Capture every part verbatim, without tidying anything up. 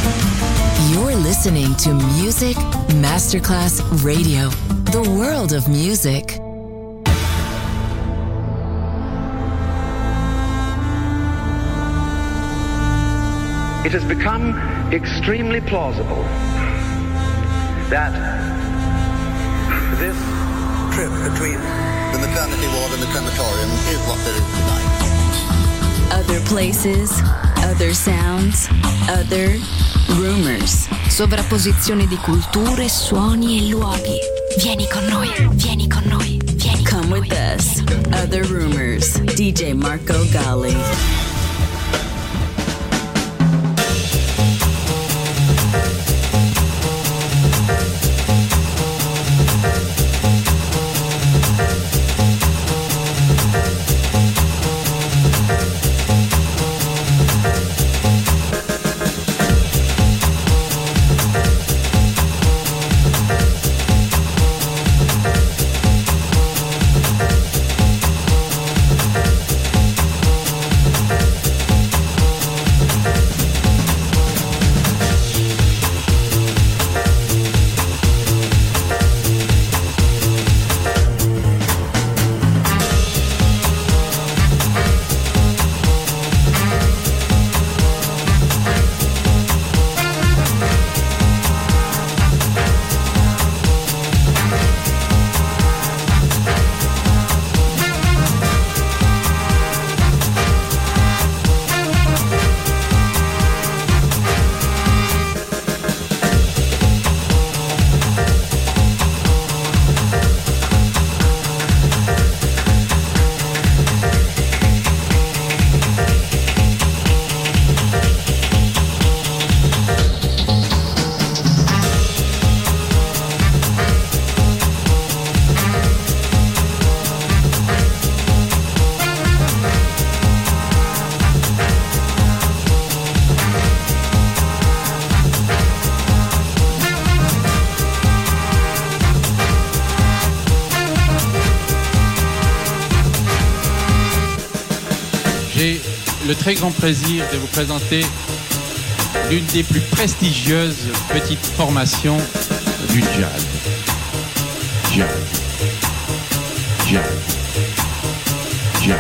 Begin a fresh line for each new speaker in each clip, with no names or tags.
You're listening to Music Masterclass Radio, the world of music.
It has become extremely plausible that this trip between
the maternity ward and the crematorium is what there is tonight.
Other places, other sounds, other rumors.
Sovrapposizione di culture, suoni e luoghi. Vieni con noi, vieni con noi, vieni con
Come
noi.
with us. Other rumors. D J Marco Gally.
J'ai le très grand plaisir de vous présenter l'une des plus prestigieuses petites formations du jazz. Jazz. Jazz. Jazz.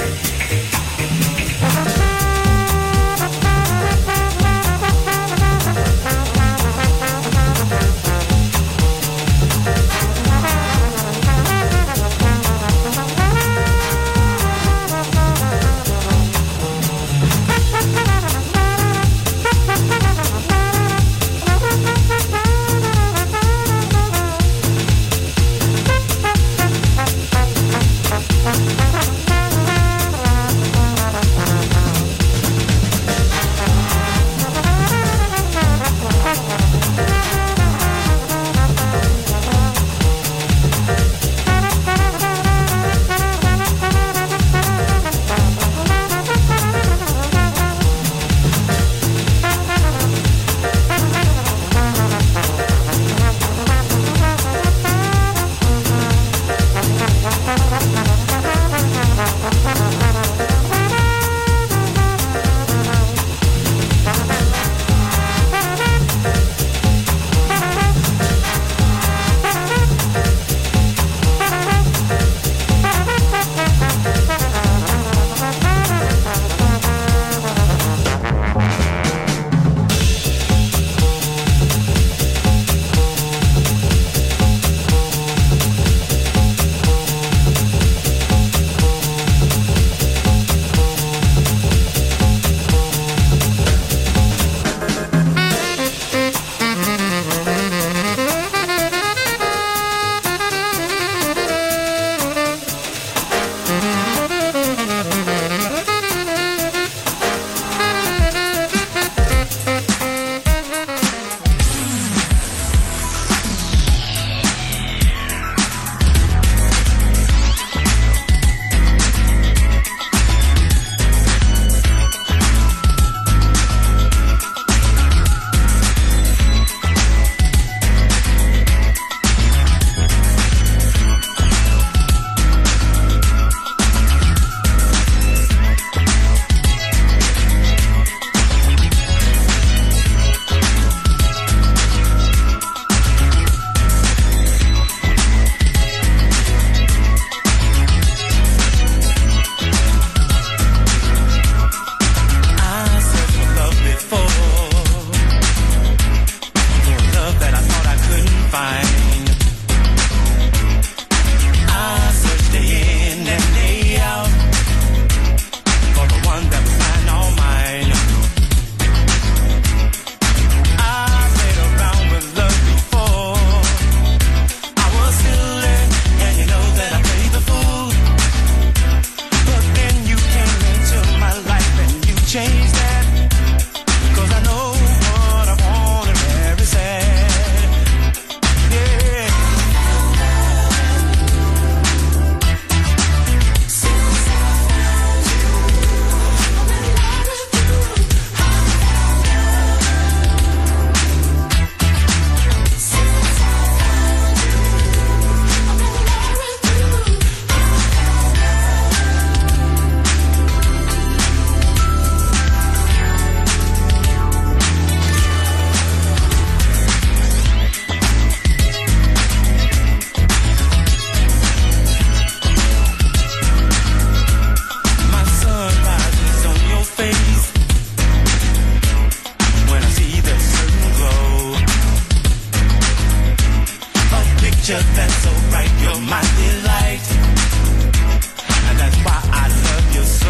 picture that's so bright, you're my delight, and that's why I love you so.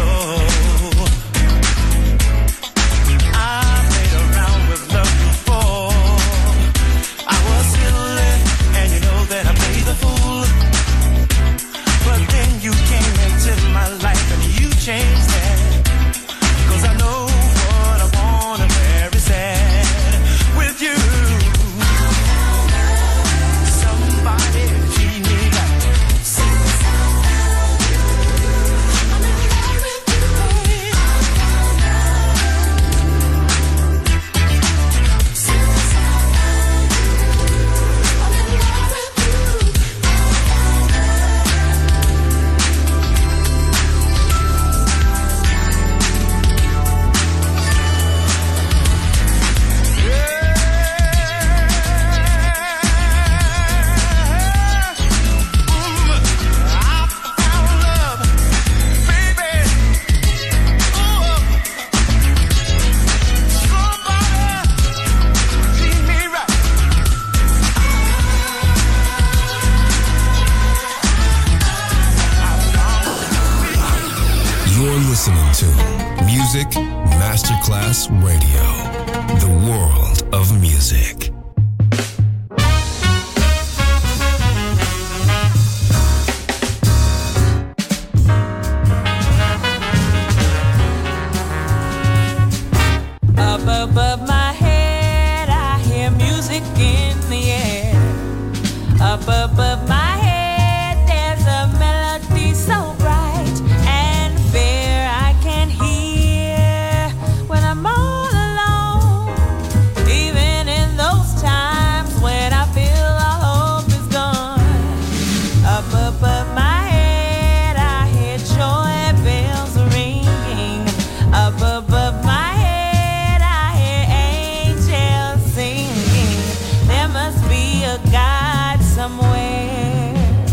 I played around with love before. I was silly, and you know that I played the fool. But then you came into my life and you changed that. 'Cause I know what I want and where it's at with you. Somebody treat me right. I'm in love with you, baby.
Listening to Music Masterclass Radio, the world of music.
Up above my head, I hear music in the air. Up above my head, there's a melody so bright and fair. I can hear when I'm all alone, even in those times when I feel all hope is gone. Up above my head, I hear joy bells ringing. Up above my head, I hear angels singing. There must be a God somewhere.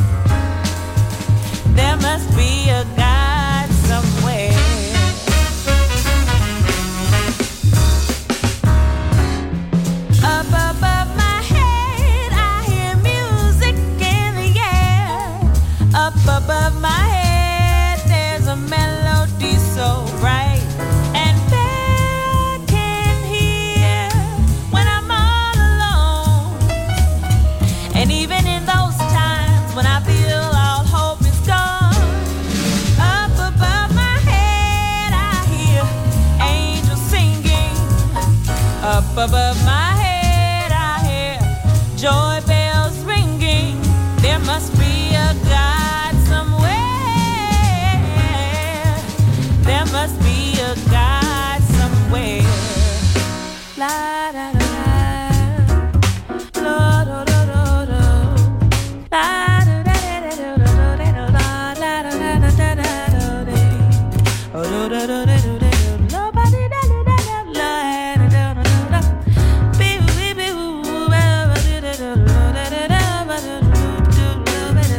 There must be a God somewhere. Up above my head, I hear music in the air. Up above my head, there's a melody so bright and fair. I can hear when I'm all alone, and even in those times when I feel all hope is gone. Up above my head, I hear angels singing. Up above my head, I hear joy bells ringing. There must be a God somewhere. There must be a God somewhere. La da da da, la da da da da, la da da da da da da da, la da da da da da da, oh da da da da da, nobody da da da da, la da da da da, bee bee bee boo, ba ba da da da da da da, ba da da da da da.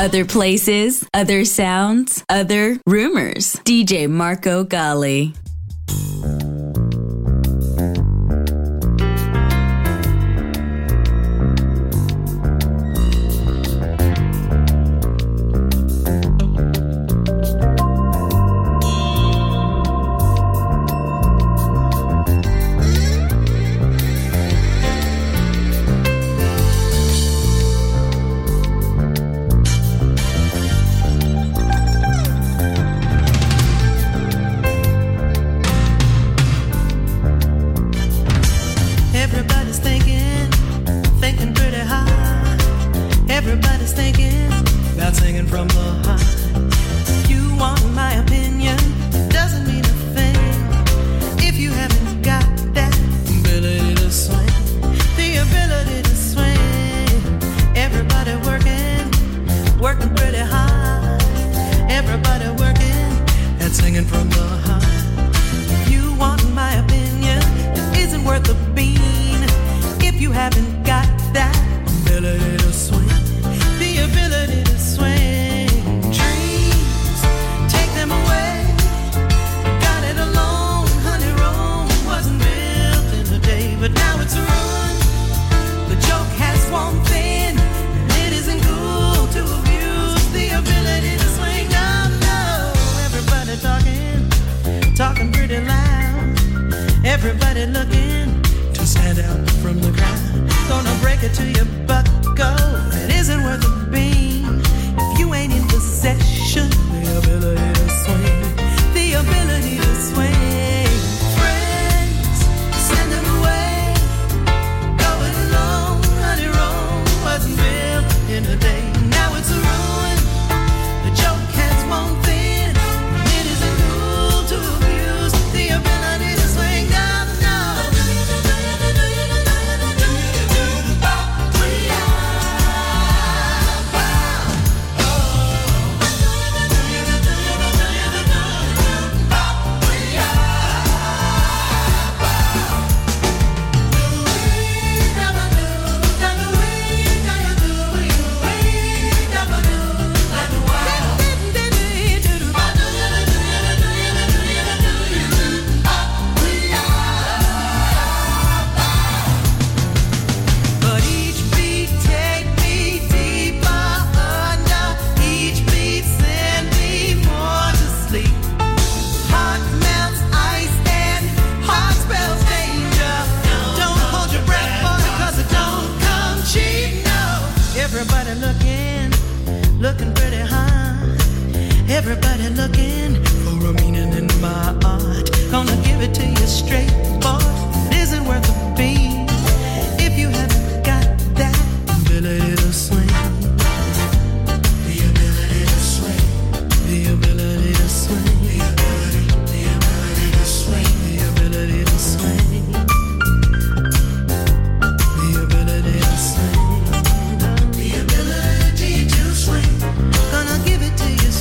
Other places, other sounds, other rumors. D J Marco Gally.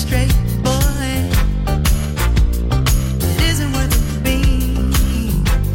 Straight boy, it isn't worth a beat.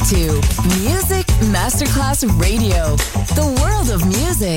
to Music Masterclass Radio, the world of music.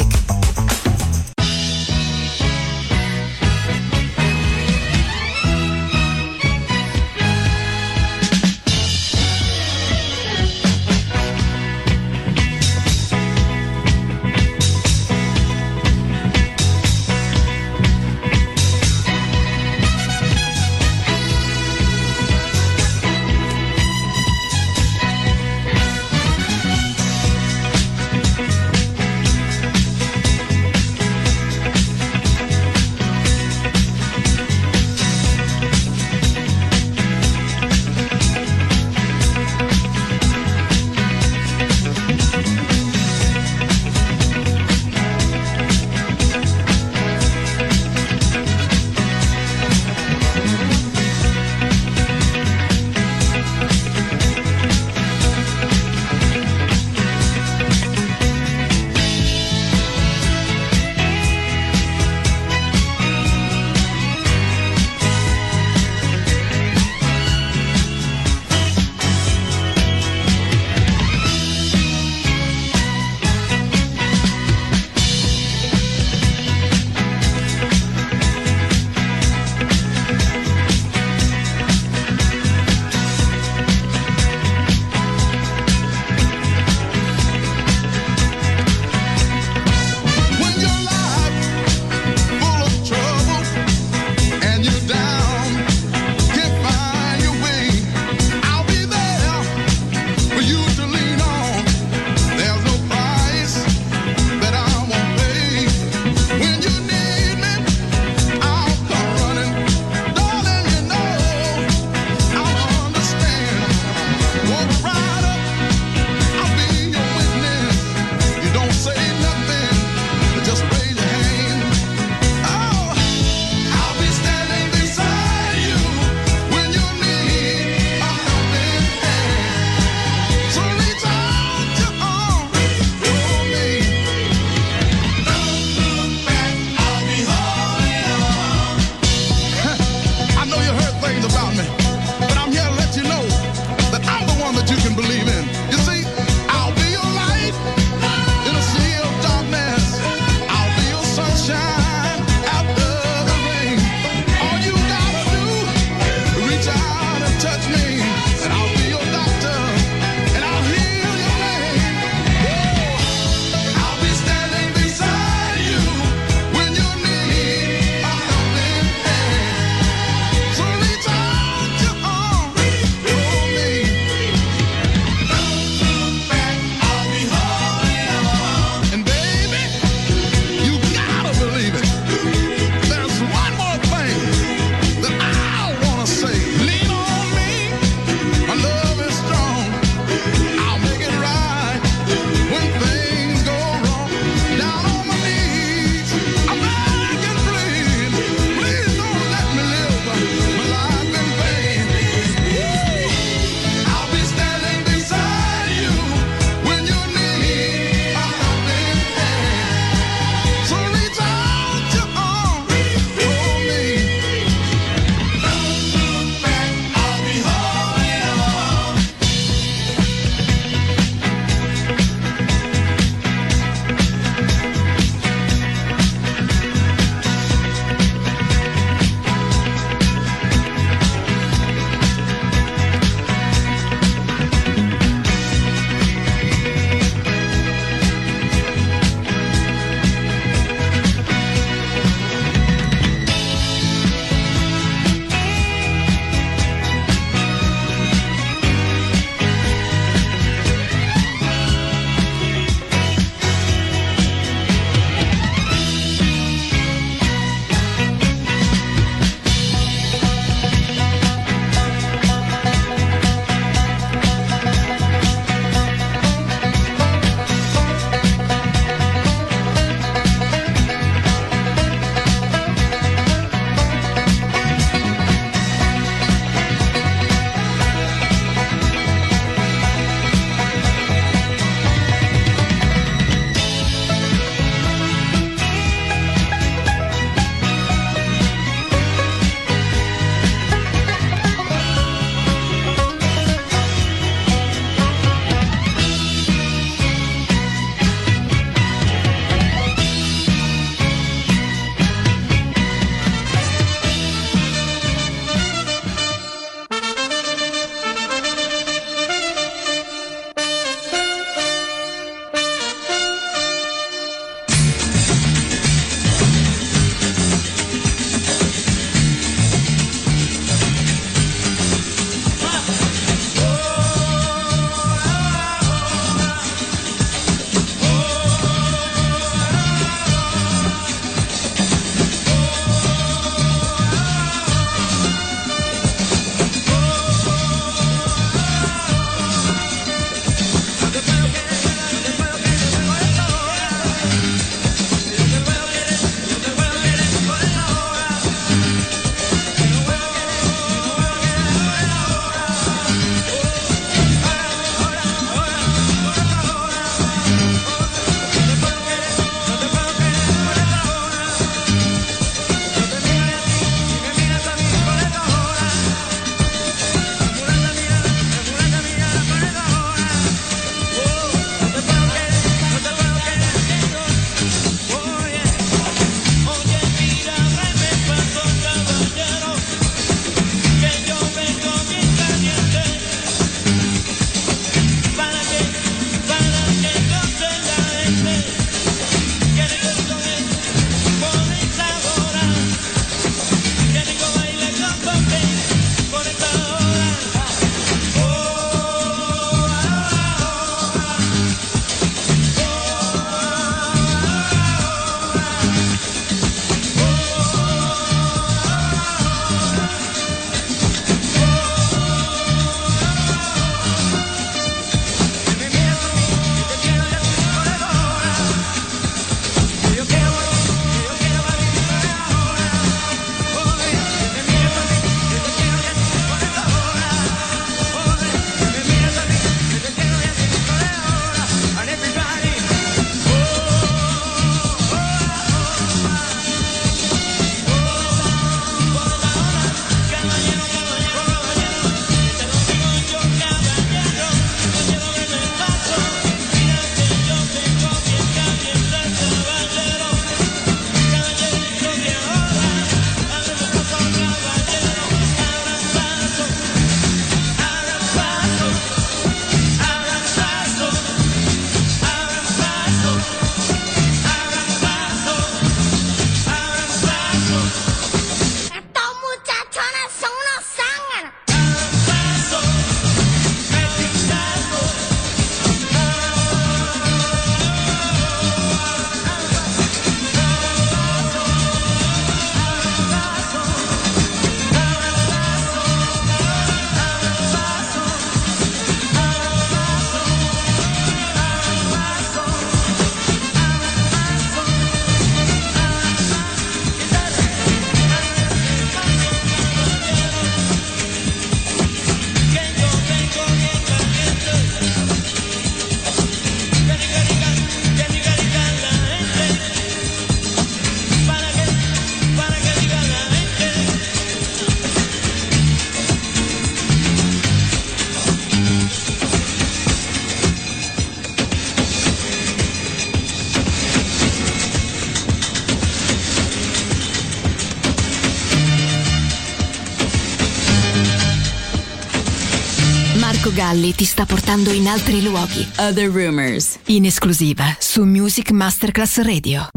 Marco Galli ti sta portando in altri luoghi.
Other Rumors.
In esclusiva su Music Masterclass Radio.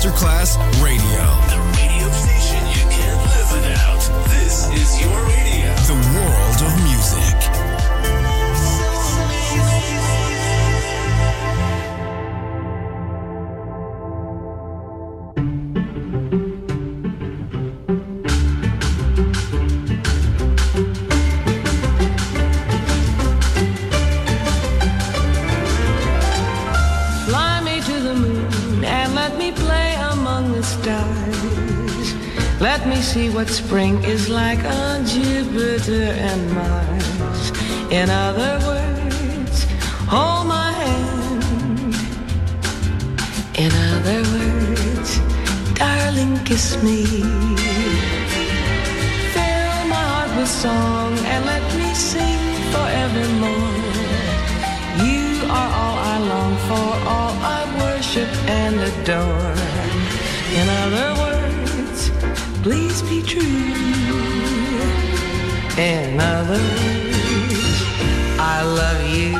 Masterclass Radio.
The radio station you can't live without. This is your radio.
The world of music.
Let me see what spring is like on Jupiter and Mars. In other words, hold my hand. In other words, darling, kiss me. Fill my heart with song and let me sing forevermore. You are all I long for, all I worship and adore. In other words, please be true. In other words, I love you.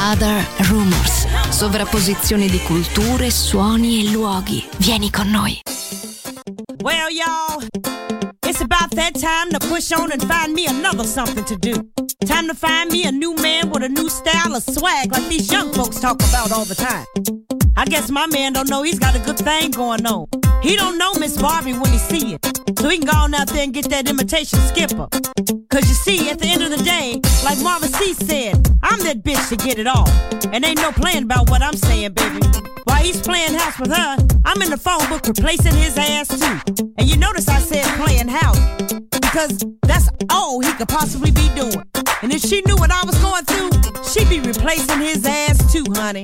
Other Rumors. Sovrapposizione di culture, suoni e luoghi. Vieni con noi.
Well, y'all, it's about that time to push on and find me another something to do. Time to find me a new man with a new style of swag like these young folks talk about all the time. I guess my man don't know he's got a good thing going on. He don't know Miss Barbie when he see it. So he can go on out there and get that imitation skipper. Cause you see, at the end of the day, like Marvin C said, I'm that bitch to get it all. And ain't no playing about what I'm saying, baby. While he's playing house with her, I'm in the phone book replacing his ass too. And you notice I said playing house, because that's all he could possibly be doing. And if she knew what I was going through, she'd be replacing his ass too, honey.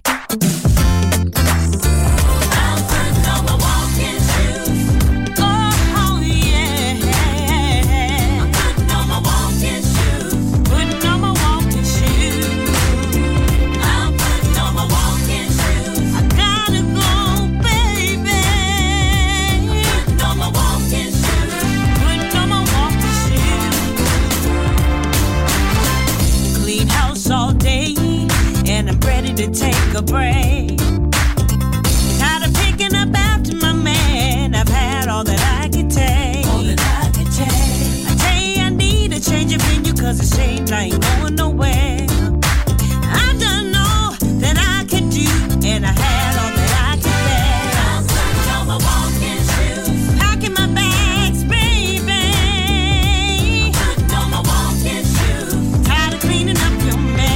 To take a break. Tired of picking up after my man. I've had all that I could take. All that I could take. I tell you I need a change of venue, cause it seems I ain't going nowhere. I've done all that I could do, and I had all that I could bear. I'm putting on my walking shoes, packing my bags, baby. I'm putting on my walking shoes, tired of cleaning up your mess.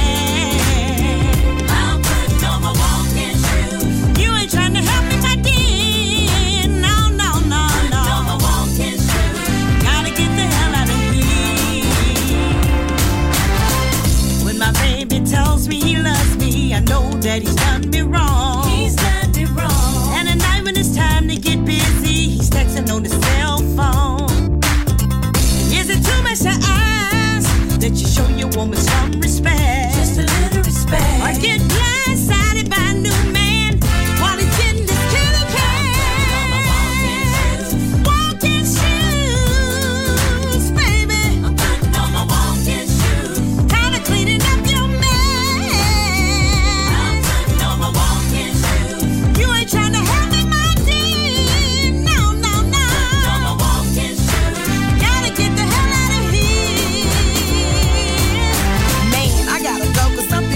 Trying to help me, my dear. No, no, no, no. Gotta get the hell out of here. When my baby tells me he loves me, I know that he's done me wrong. He's done me wrong. And at night when it's time to get busy, he's texting on his cell phone. Is it too much to ask that you show your woman some respect? Just a little respect. Or get blindsided by a new man while he's getting this kitty cat. Walking shoes, baby. I'm putting on my walking shoes. Kind of cleaning up your mess. I'm putting on my walking shoes. You ain't trying to help me, my dear. No, no, no. I'm putting on my walking shoes. Gotta get the hell out of here. Man, I gotta go, cause I'm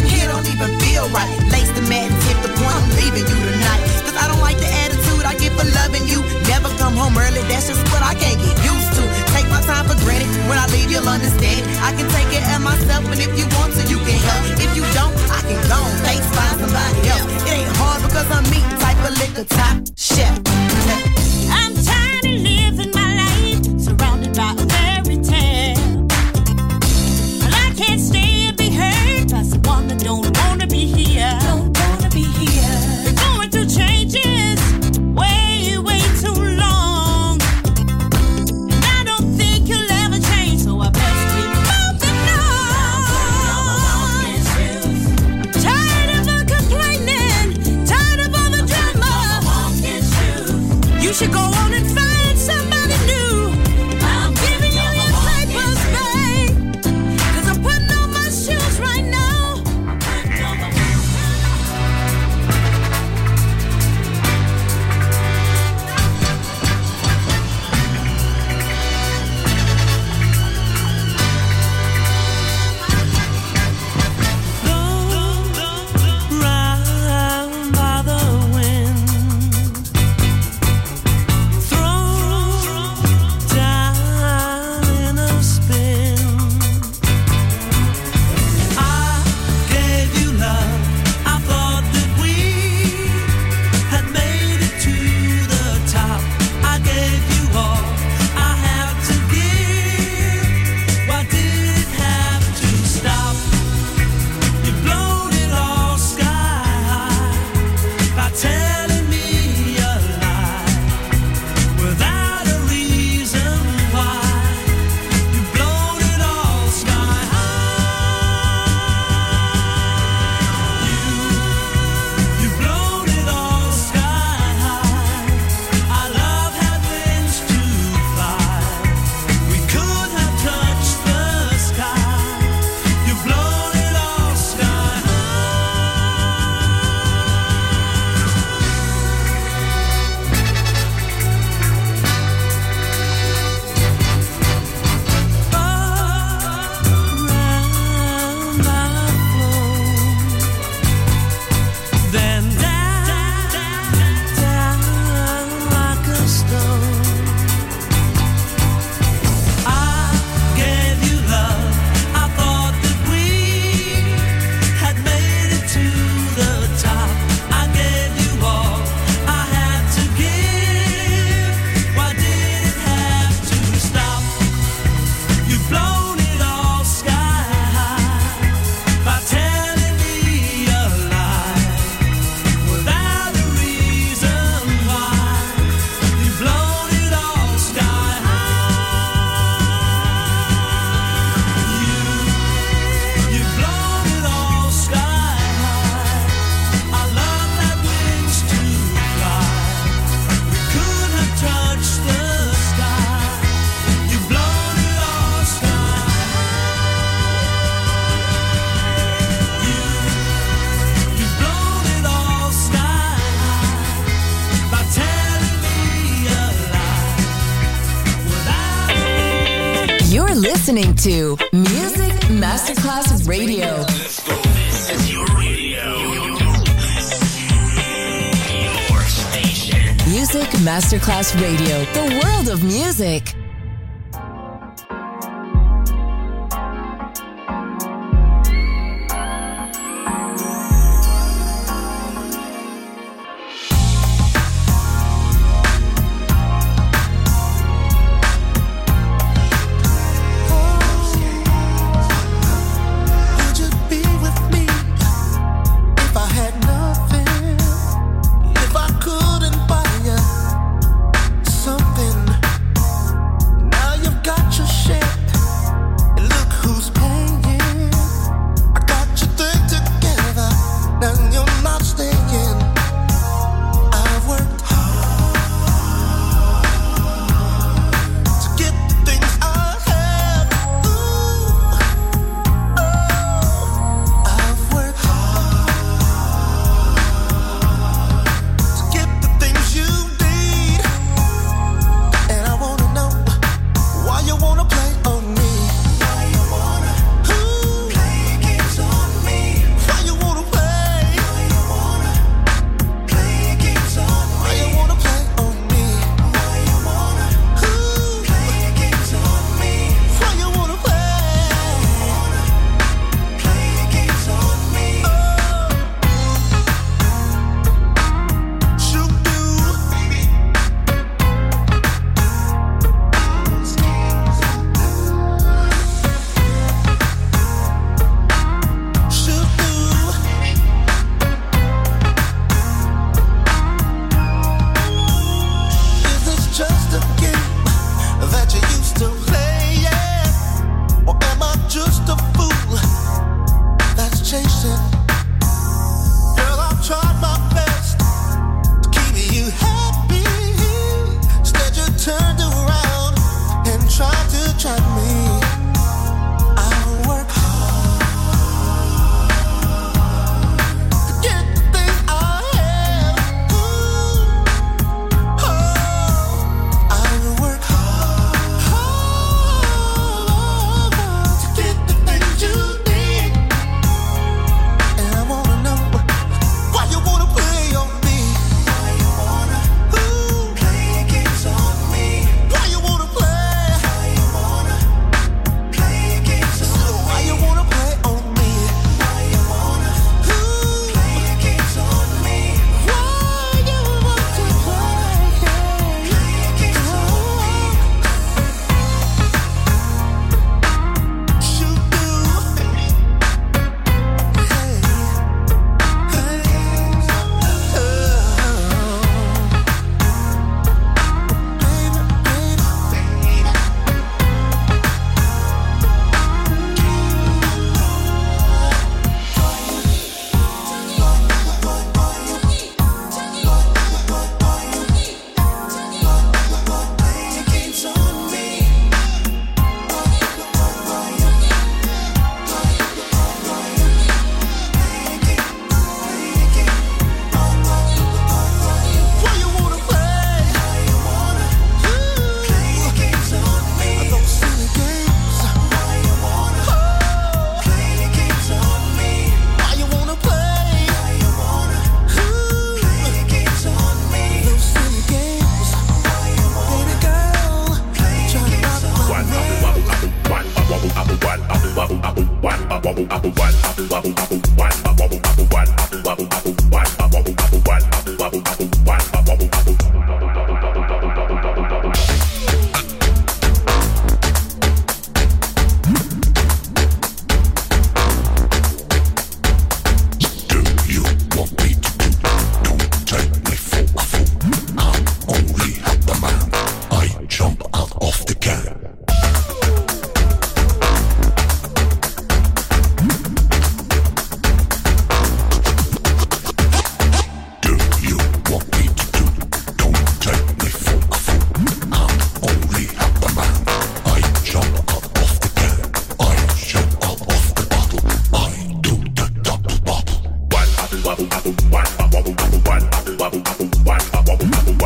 listening to Music Masterclass Radio.
Let's go. This is your radio. Your station.
Music Masterclass Radio. The world of music.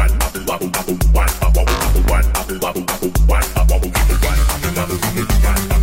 One,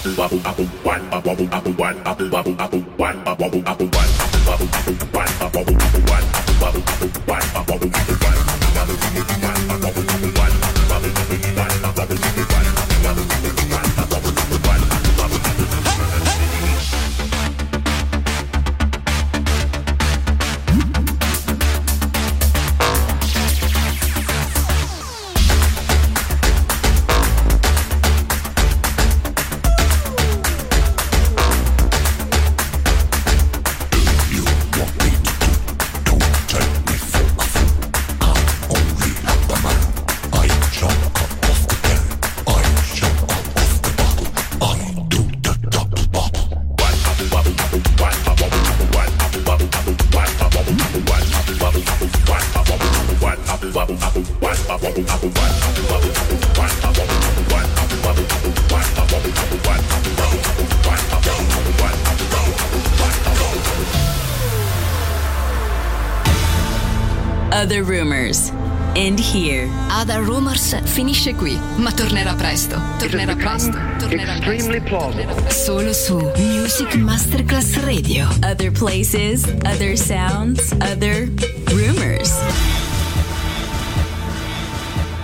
Other Rumors. End here. Other Rumors finisce qui, ma tornerà presto. Tornerà presto. Tornerà
extremely plausible.
Solo su Music Masterclass Radio. Other places, other sounds, other rumors.